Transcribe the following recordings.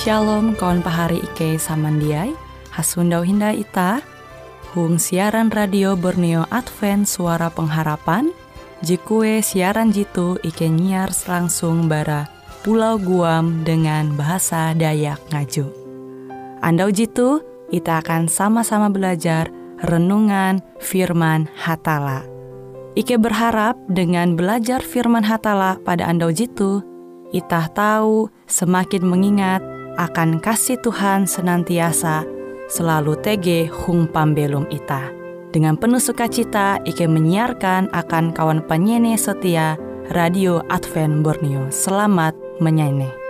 Shalom kawan pahari Ike samandiai, hasundau hinda ita, hung siaran radio Borneo Advent Suara Pengharapan, jikue siaran jitu Ike nyiar langsung bara Pulau Guam dengan bahasa Dayak Ngaju. Andau jitu, kita akan sama-sama belajar renungan firman Hatala. Ike berharap dengan belajar firman Hatala pada andau jitu, kita tahu semakin mengingat akan kasih Tuhan senantiasa selalu tege hung pambelum ita. Dengan penuh sukacita, Ike menyiarkan akan kawan penyanyi setia Radio Advent Borneo. Selamat menyanyi.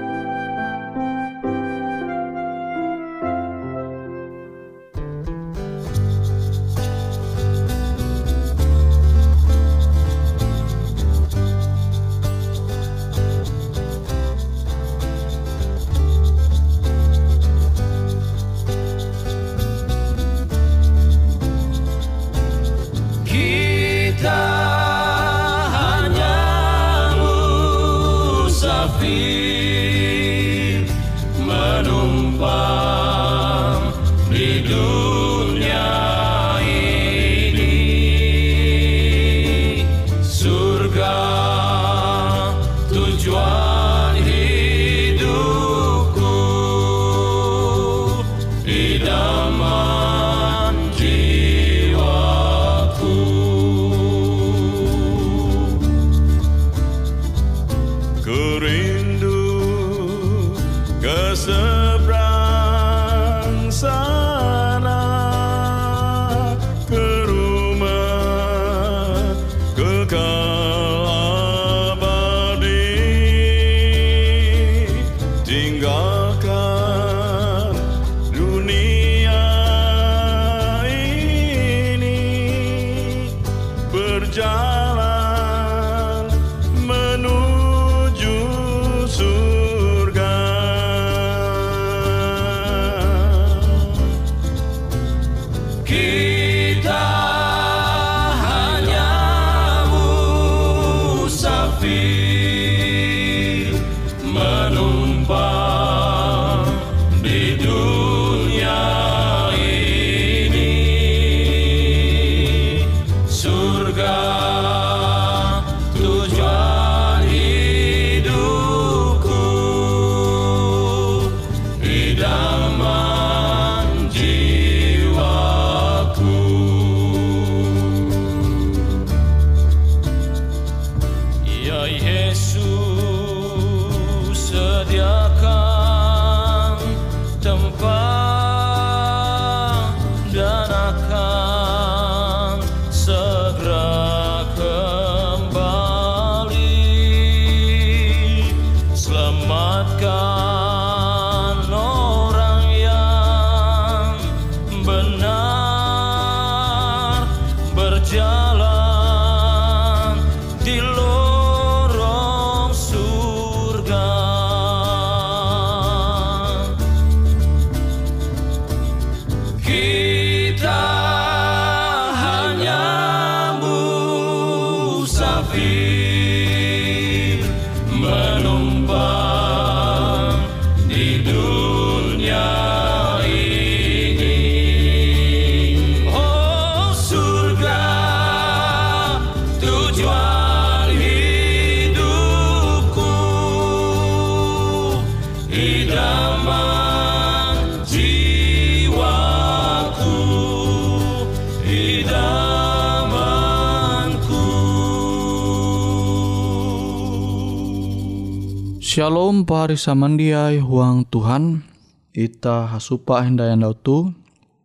Shalom pahari samandiai huang Tuhan, ita hasupa hendayan dautu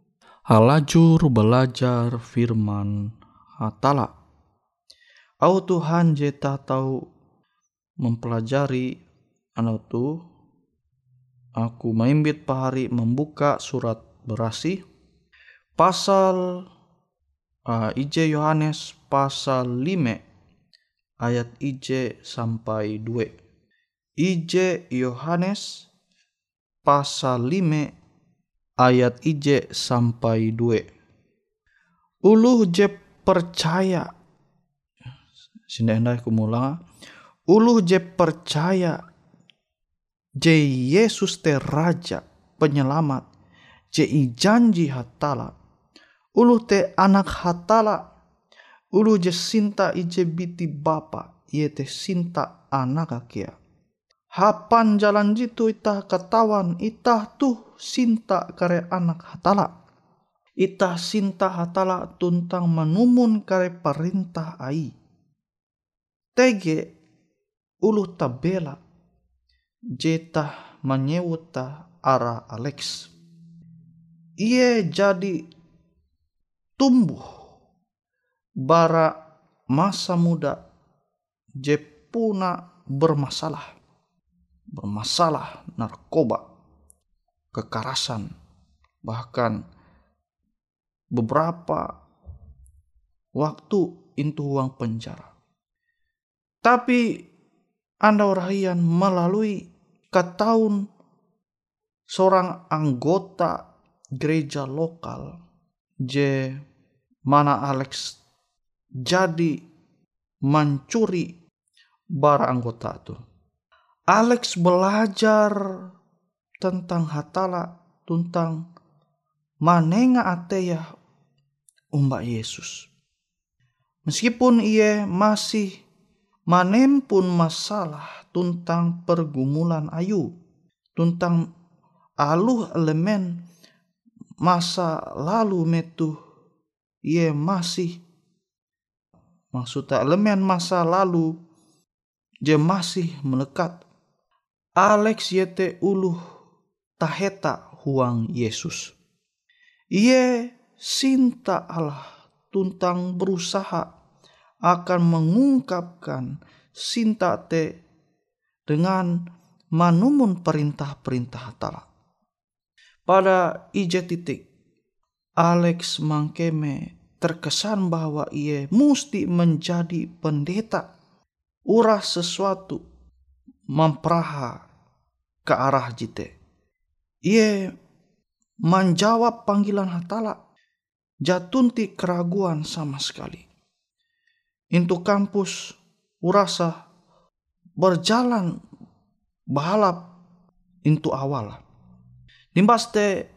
halajur belajar firman Hatala. Au Tuhan jeta tahu mempelajari anautu, aku maimbit pahari membuka surat Berasi pasal IJ Yohanes pasal 5 ayat IJ sampai 2. IJ Yohanes pasal 5 ayat IJ sampai 2. Uluh je percaya. Sindai kumula. Uluh je percaya je Yesus te raja penyelamat, je i janji hatala, ulu te anak hatala, ulu je sinta ije biti bapa, ye te sinta anak akia. Hapan jalan jitu itah katawan, itah tuh sinta kare anak hatala. Itah sinta hatala tuntang manumun kare perintah ai. Tege ulu tabela jeta menyewuta ara Alex. Ia jadi tumbuh bara masa muda je puna bermasalah narkoba, kekerasan, bahkan beberapa waktu into uang penjara. Tapi Anda orahian melalui ketahun seorang anggota gereja lokal je mana Alex jadi mencuri bara anggota itu. Alex belajar tentang hatala, tentang manenga ateya umbak Yesus. Meskipun ia masih manempun masalah tentang pergumulan ayu, tentang aluh elemen masa lalu metu, ia masih maksudnya elemen masa lalu je masih melekat. Alex yete uluh taheta huang Yesus. Ia sinta Allah tuntang berusaha akan mengungkapkan sinta te dengan manumun perintah-perintah Allah. Pada ije titik Alex mangkeme terkesan bahwa ia mesti menjadi pendeta, urah sesuatu memperaha ke arah jite. Ia menjawab panggilan hatala, jatunti keraguan sama sekali. Into kampus urasa berjalan balap into awal. Dimbaste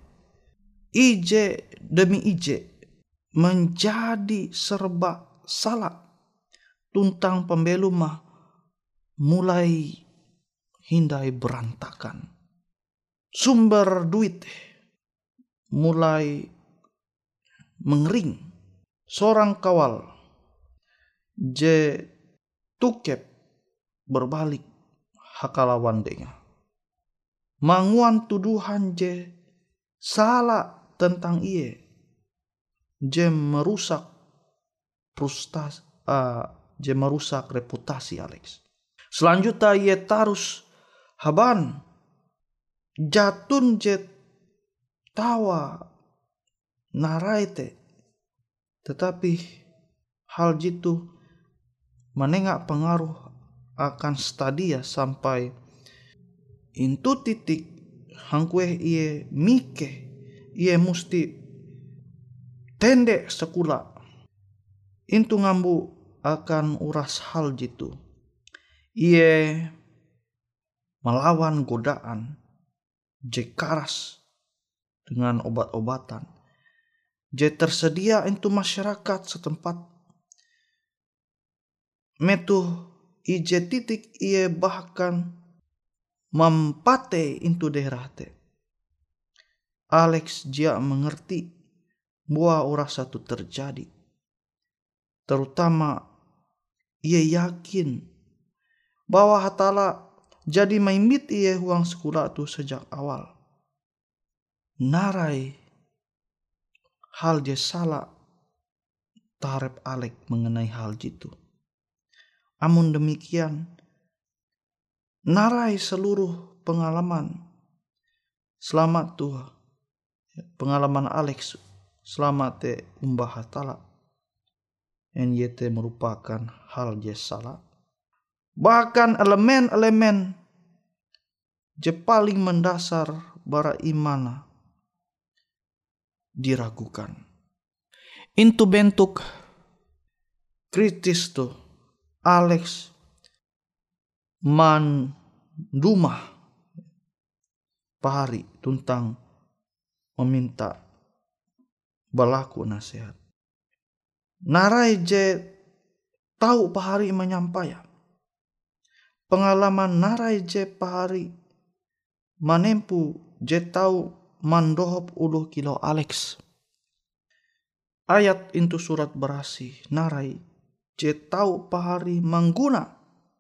ije demi ije menjadi serba salah tuntang pembelum mah mulai hindai berantakan. Sumber duit mulai mengering. Seorang kawal je tukep berbalik hakalawan denga. Manguan tuduhan je salah tentang iye, je merusak reputasi Alex. Selanjutnya ia tarus haban jatun je tawa naraite, tetapi hal jitu menengak pengaruh akan stadia sampai into titik hangkue ie mike ie musti tendek sekula into ngambu akan uras hal jitu. Ie melawan godaan je karas dengan obat-obatan je tersedia into masyarakat setempat. Metu ije titik ie bahkan mempate into daerah te. Alex dia mengerti bahwa uras satu terjadi. Terutama ia yakin bahwa hatala jadi maimbit ia huang sekolah tu sejak awal. Narai hal je salah tarep Alex mengenai hal jitu. Amun demikian, narai seluruh pengalaman selamat Tuhan, pengalaman Alex selamat te umbah hatala yang yete merupakan hal je salah. Bahkan elemen-elemen je paling mendasar bara imana diragukan. Into bentuk kritis tu Alex mandumah pahari tentang meminta balaku nasihat. Narai je tahu pahari menyampaikan. Pengalaman narai je pahari manempu je tahu mandohop 10 kilo Alex. Ayat itu surat berasi narai je tahu pahari mangguna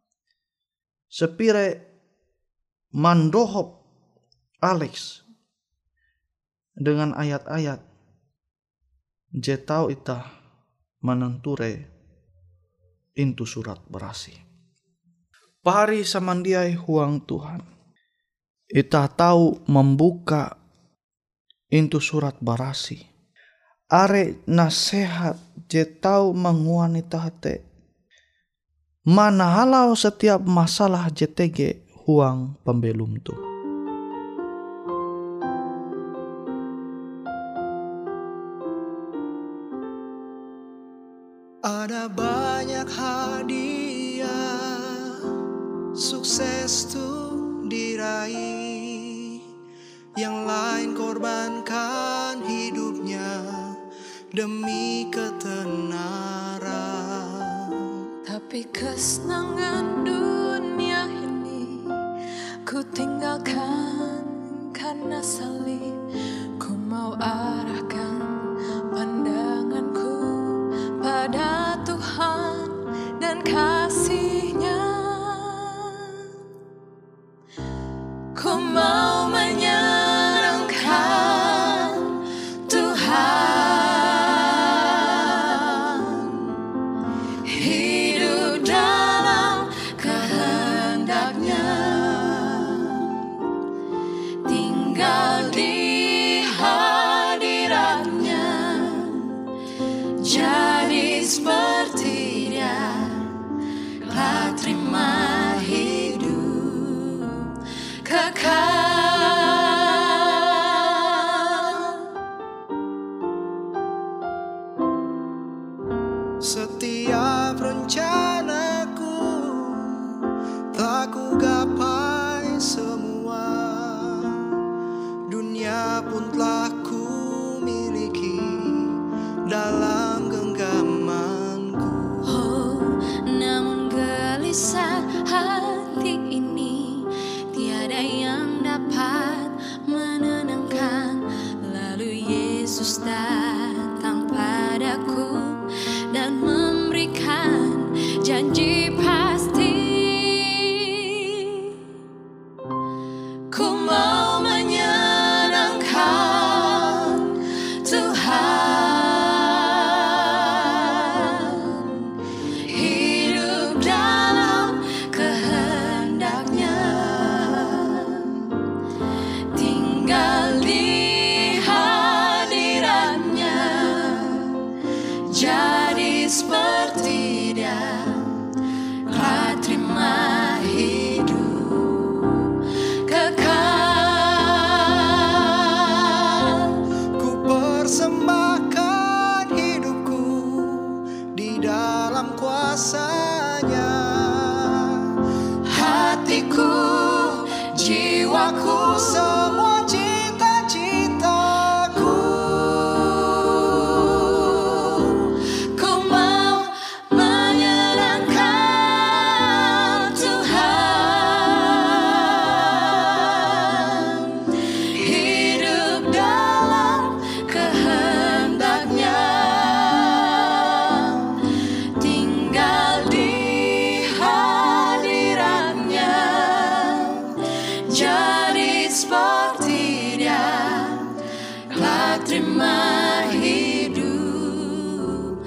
sepire mandohop Alex dengan ayat-ayat je tahu ita menenture itu surat berasi. Pahari samandiai huang Tuhan. Ita tahu membuka itu surat berasi. Are nasihat je tahu menguan ita hate. Mana halau setiap masalah JTG huang pembelum tu. Ada banyak hadiah sukses tuh diraih, yang lain korbankan hidupnya demi ketenaran. Tapi kesenangan dunia ini ku tinggalkan karena salib. Ku mau arahkan pandanganku pada Tuhan dan kasih-Nya. Ku mau menyenangkan Tuhan, hidup dalam kehendak-Nya, tinggal di hadirat-Nya, jadi seperti Dia, telah terima hidup kekal. Setiap rencanaku telah ku gapai semua, dunia pun telah ku miliki dalam genggamanku. Oh, namun gelisah hati ini tiada yang dapat menenangkan. Lalu Yesus datang padaku dan memberikan janji pasti. Ku mau menyenangkan Tuhan, hidup dalam kehendak-Nya, tinggal di hadirat-Nya, jadi seperti Dia, telah terima hidup kekal. Ku persembahkan hidupku di dalam kuasa-Nya, Hatiku, jiwaku, semua cita-citaku. ku mau menyenangkan Tuhan, hidup dalam kehendak-Nya, tinggal di hadirat-Nya, jadi seperti Dia, telah terima hidup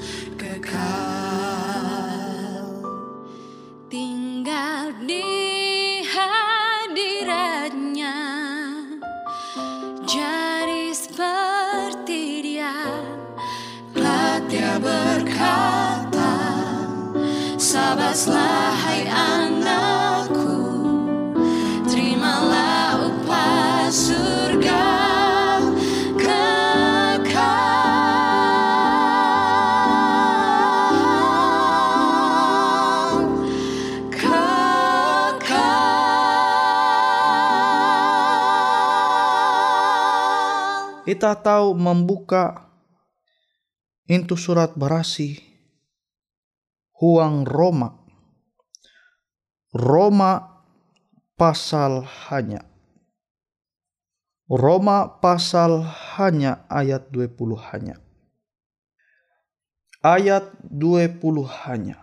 kekal. Tinggal di hadirat-Nya, jadi seperti Dia, telah Dia berkata, sabarlah hai anakku, terimalah upah surga kekal. Ita tahu membuka into surat barasi huang Roma. Roma pasal hanya. Roma pasal hanya ayat 20 hanya. Ayat 20 hanya.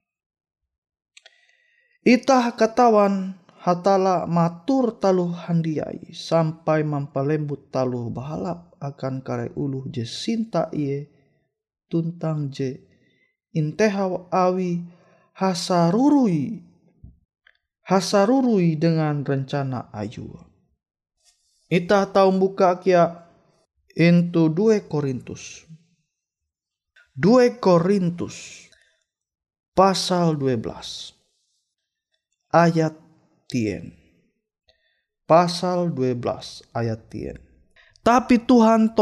Itah katawan hatala matur taluh handiai sampai mampalembut taluh bahalap akan kare uluh je sinta iye tuntang je intehaw awi hasarurui dengan rencana ayu. Itah tahu buka kia into 2 Korintus. 2 Korintus pasal 12 ayat 10. Pasal 12 ayat 10. Tapi Tuhan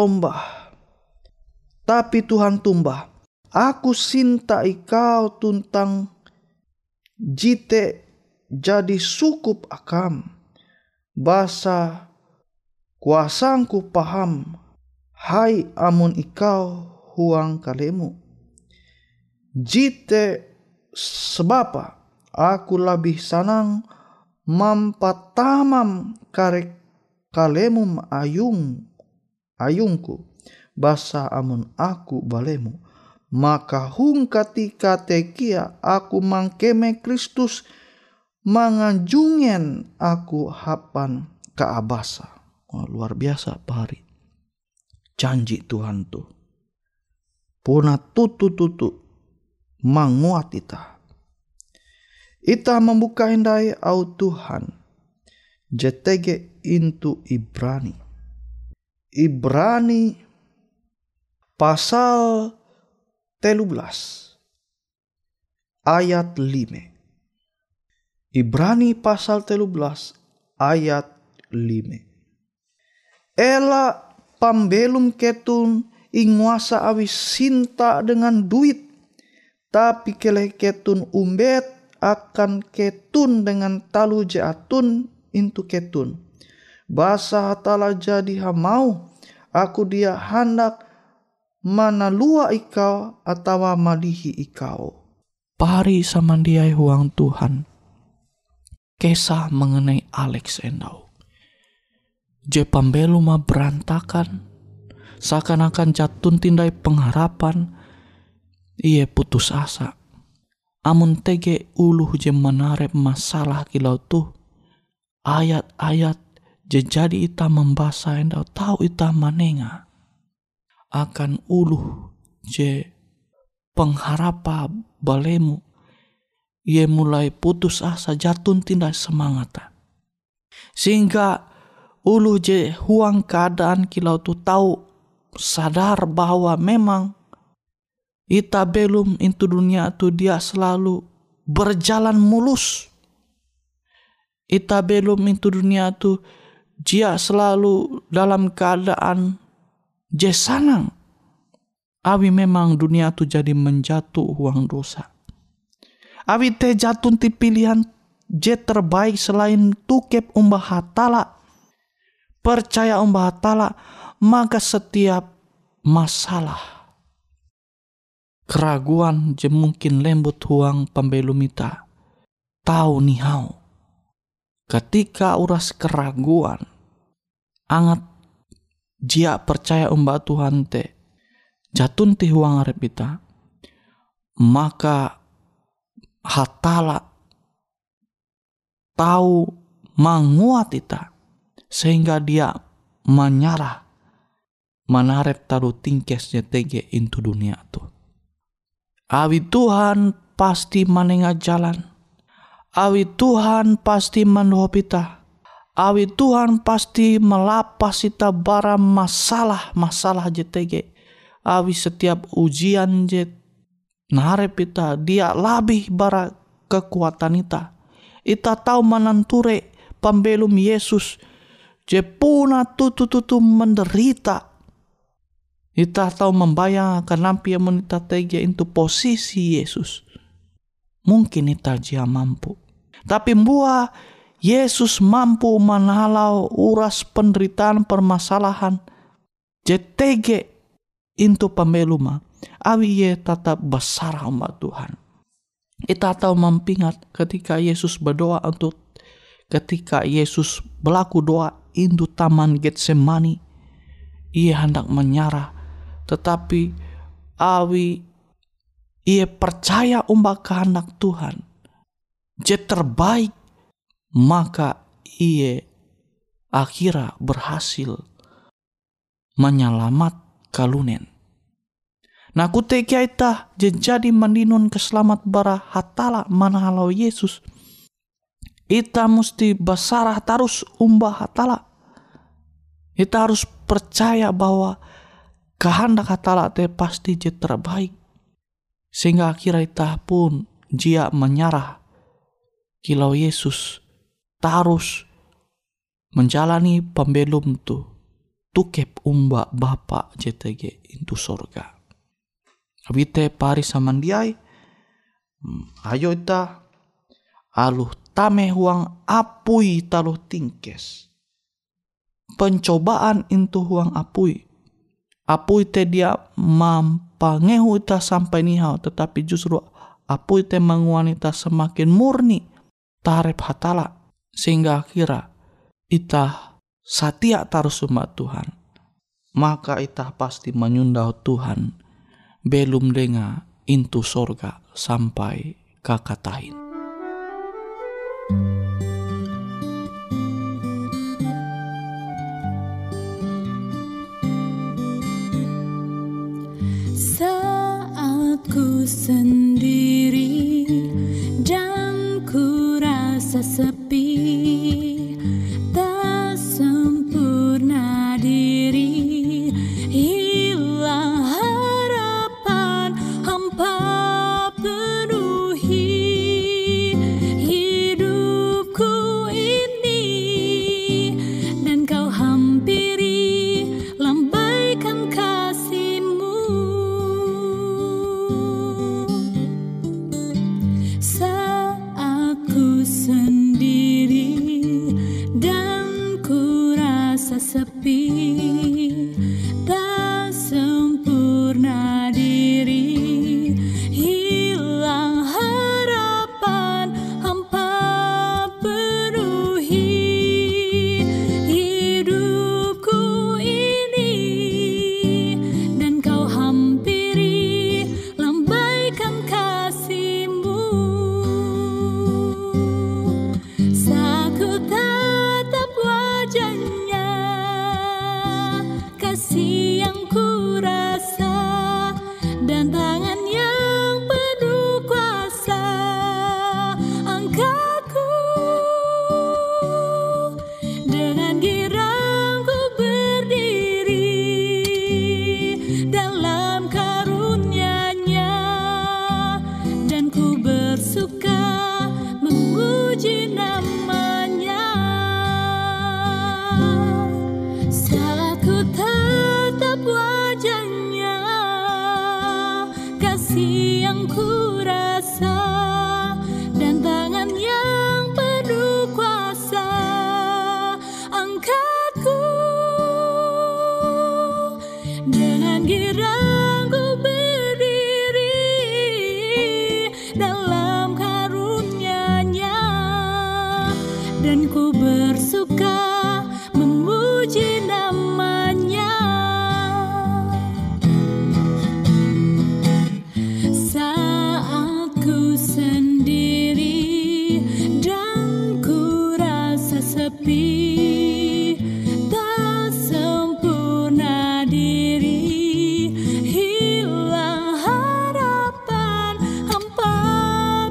tumbah, aku sinta ikau tuntang jite jadi sukup akam. Basa kuasangku paham, hai amun ikau huang kalemu. Jite sebapa aku lebih sanang mampatamam karek kalemum ayungku basa amun aku balemu. Maka hung katika tekia aku mangkeme Kristus manganjungen aku hapan kaabasa. Oh, luar biasa pahari. Janji Tuhan tuh. Puna tutu manguat Ita membuka hindai au Tuhan. JTG into Ibrani. Ibrani pasal 13 ayat 5. Ibrani pasal 13 ayat 5. Ela pambelum ketun inguasa awi sinta dengan duit. Tapi keleh ketun umbet akan ketun dengan talu jatun into ketun. Basa hatala jadi hamau. Aku dia hendak manalua ikau atau malihi ikau. Pari samandiai huang Tuhan. Kisah mengenai Alex endau. Je pambelu ma berantakan. Seakan-akan jatun tindai pengharapan. Ia putus asa. Amun tege uluh je menarep masalah kilau tuh. Ayat-ayat je jadi ita membasa endau tahu ita manenga. Akan uluh je pengharapa balemu. Ia mulai putus asa jatun tindai semangata. Sehingga uluh je huang keadaan kilau tuh tahu sadar bahwa memang ita belum into dunia tu dia selalu berjalan mulus. Ita belum into dunia tu dia selalu dalam keadaan je sanang. Awi memang dunia tu jadi menjatuh huang dosa. Awi te jatun ti pilihan je terbaik selain tukep umbah hatala. Percaya umbah hatala, maka setiap masalah keraguan je mungkin lembut huang pembelum ita. Tahu nihau. Ketika uras keraguan. Angat jia percaya umbah Tuhan te. Jatun ti huang arep ita. Maka hatala tahu manguat ita. Sehingga dia menyarah. Manarep taruh tingkes JTG into dunia tu. Awi Tuhan pasti manenga jalan. Awi Tuhan pasti mandohop ita. Awi Tuhan pasti melapas ita bara masalah JTG. Awi setiap ujian narep ita dia labih bara kekuatan ita. Ita tahu mananture pembelum Yesus je puna tutu menderita. Ita tahu membayangkan nampi yang ita tege into posisi Yesus. Mungkin ita jia mampu. Tapi mbua Yesus mampu manalau uras penderitaan permasalahan. JTG into pembeluma, awi ye tetap besar umat Tuhan. Kita tahu mempingat ketika Yesus berdoa ketika Yesus berlaku doa into taman Getsemani, ia hendak menyerah, tetapi awi ia percaya kehendak Tuhan, je terbaik, maka ia akhirnya berhasil menyelamat kalunen. Nah kutekia ita jadi mendinun keselamat bara hatala manahalau Yesus. Ita musti basarah tarus umbah hatala. Ita harus percaya bahwa kehendak hatala te pasti je terbaik. Sehingga akhirnya ita pun jia menyerah kilau Yesus tarus menjalani pembelum tu tukep umba Bapa JTG into sorga. Abite pari samandiai, ayo ita aluh tame huang apui taluh tingkes. Pencobaan into huang apui. Apui te dia mampangehu ita sampai nihau, tetapi justru apui te menguani ita semakin murni tarep hatala, sehingga akhirnya ita satia tarus umat Tuhan. Maka ita pasti menyundau Tuhan belum dengar into sorga sampai kakatahin. Saat ku sendiri dan ku rasa sepi, tak sempurna diri, hilang harapan, hampa penuhi hidupku ini, dan kau hampiri lambaikan kasih-Mu. Saat ku sendiri dan ku rasa sepi, tak sempurna diri, hilang harapan, hampa penuhi hidupku ini, dan kau hampiri lambaikan kasih-Mu. Saat ku tatap wajahnya, kasih yang ku rasa, dan tangan yang penuh kuasa angkatku, dengan girang ku berdiri dalam karunia-Nya, dan ku bersuka memuji nama-Nya. Saat ku tatap wajahnya, kasih yang ku rasa, dan tangan yang penuh kuasa angkatku, dengan girang ku berdiri dalam karunia-Nya, dan ku bersuka memuji nama-Nya. Saat ku sendiri dan ku rasa sepi, tak sempurna diri, hilang harapan, hampa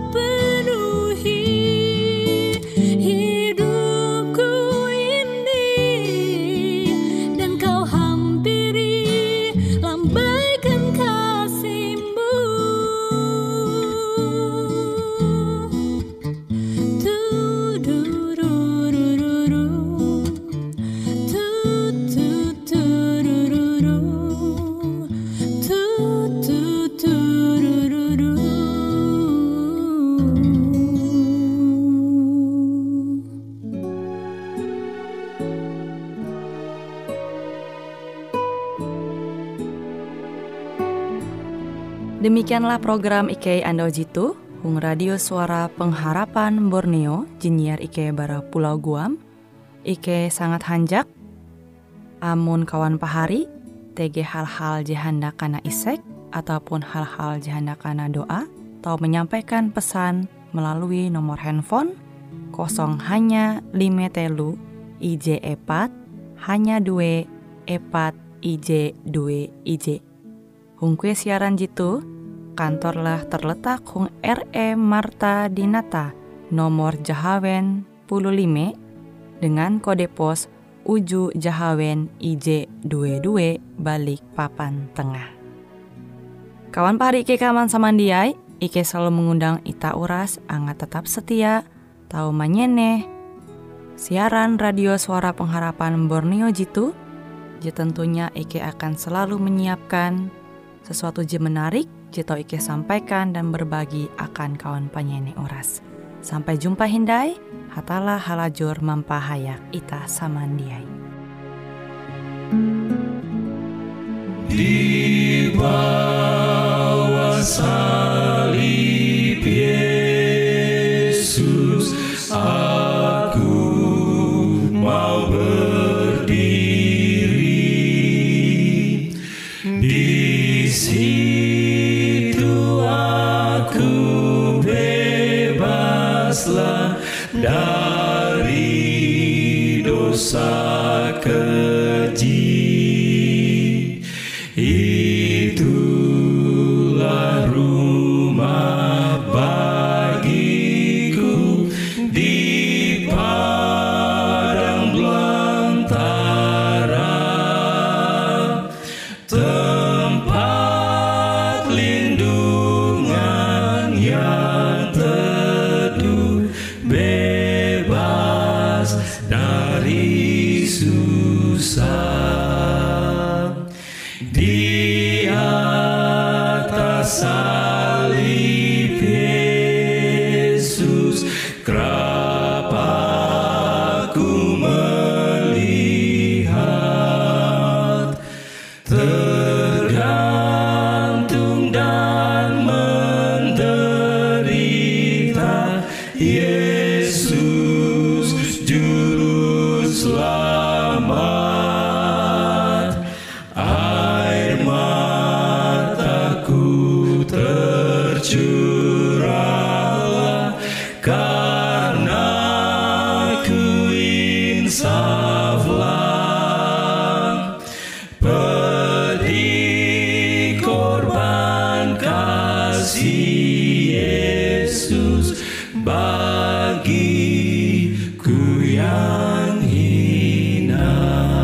Demikianlah program Ike Ando Jitu, Hung Radio Suara Pengharapan Borneo, Jinnyar Ike bara Pulau Guam. Ike sangat hanjak, amun kawan pahari, TG hal-hal jihanda kana isek, ataupun hal-hal jihanda kana doa, atau menyampaikan pesan melalui nomor handphone 0 hanya 5 telu IJ 4 hanya 2 4 IJ 2 IJ. Hung kue siaran jitu, kantorlah terletak Hung RE Marta Dinata, nomor Jahawen 15, dengan kode pos Uju Jahawen IJ 22 balik Papan Tengah. Kawan pahari Ike kaman samandiai, Ike selalu mengundang ita uras angga tetap setia, tahu manyeneh siaran radio Suara Pengharapan Borneo jitu. Je tentunya Ike akan selalu menyiapkan sesuatu je menarik jito Ike sampaikan dan berbagi akan kawan penyeneh uras. Sampai jumpa hindai, hatalah halajur mampahayak ita samandiai. Di bawah salib Yesus, aku mau berdiri. Di situ aku bebaslah dari dosa keji. Itulah rumah bagiku di padang belantara, tempat lindungan yang teduh, bebas dari susah. Di atas salib Yesus, kerap aku melihat, tergantung dan menderita Yesus Juru Selamat. Tercurahlah karena ku insaflah, pedih korban kasih Yesus bagiku yang hina.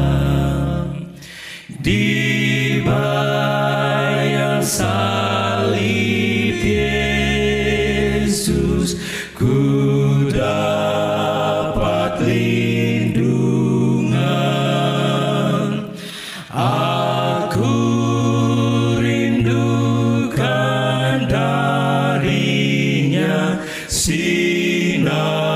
Dibayar salib Yesus, ku dapat lindungan. Aku rindukan darinya sinar